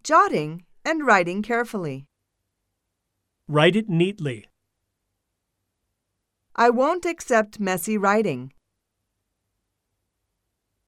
jotting and writing carefully. Write it neatly. I won't accept messy writing.